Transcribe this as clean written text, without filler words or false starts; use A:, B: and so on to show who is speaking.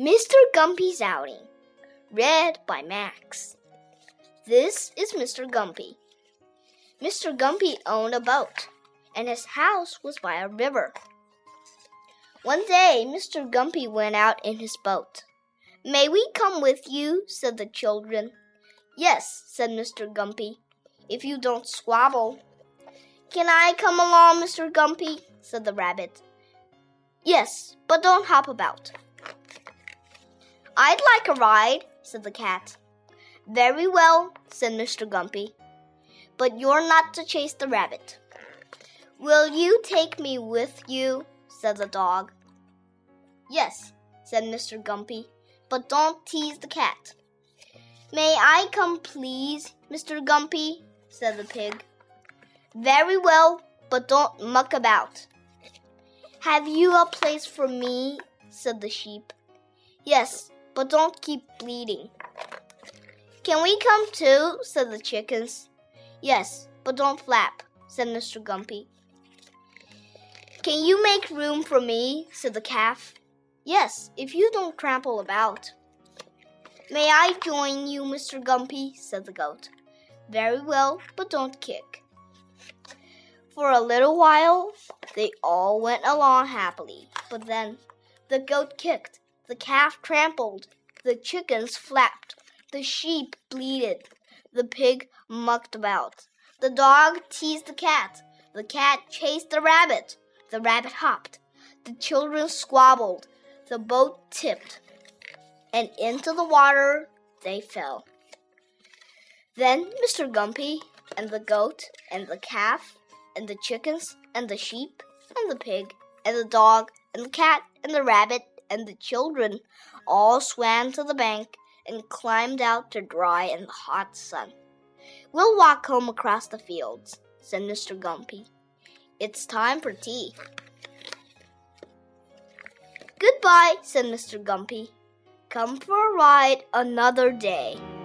A: Mr. Gumpy's Outing, read by Max. This is Mr. Gumpy. Mr. Gumpy owned a boat, and his house was by a river. One day, Mr. Gumpy went out in his boat. "May we come with you?" said the children. "Yes," said Mr. Gumpy, "if you don't squabble." "Can I come along, Mr. Gumpy?" said the rabbit. "Yes, but don't hop about." "I'd like a ride," said the cat. "Very well," said Mr. Gumpy, "but you're not to chase the rabbit." "Will you take me with you?" said the dog. "Yes," said Mr. Gumpy, "but don't tease the cat." "May I come, please, Mr. Gumpy?" said the pig. "Very well, but don't muck about." "Have you a place for me?" said the sheep. "Yes, but don't keep bleeding." "Can we come too?" said the chickens. "Yes, but don't flap," said Mr. Gumpy. "Can you make room for me?" said the calf. "Yes, if you don't trample about." "May I join you, Mr. Gumpy?" said the goat. "Very well, but don't kick." For a little while, they all went along happily, but then the goat kicked, the calf trampled, the chickens flapped, the sheep bleated, the pig mucked about, the dog teased the cat chased the rabbit hopped, the children squabbled, the boat tipped, and into the water they fell. Then Mr. Gumpy and the goat and the calf and the chickens and the sheep and the pig and the dog and the cat and the rabbit and the children all swam to the bank and climbed out to dry in the hot sun. "We'll walk home across the fields," said Mr. Gumpy. "It's time for tea." "Goodbye," said Mr. Gumpy. "Come for a ride another day."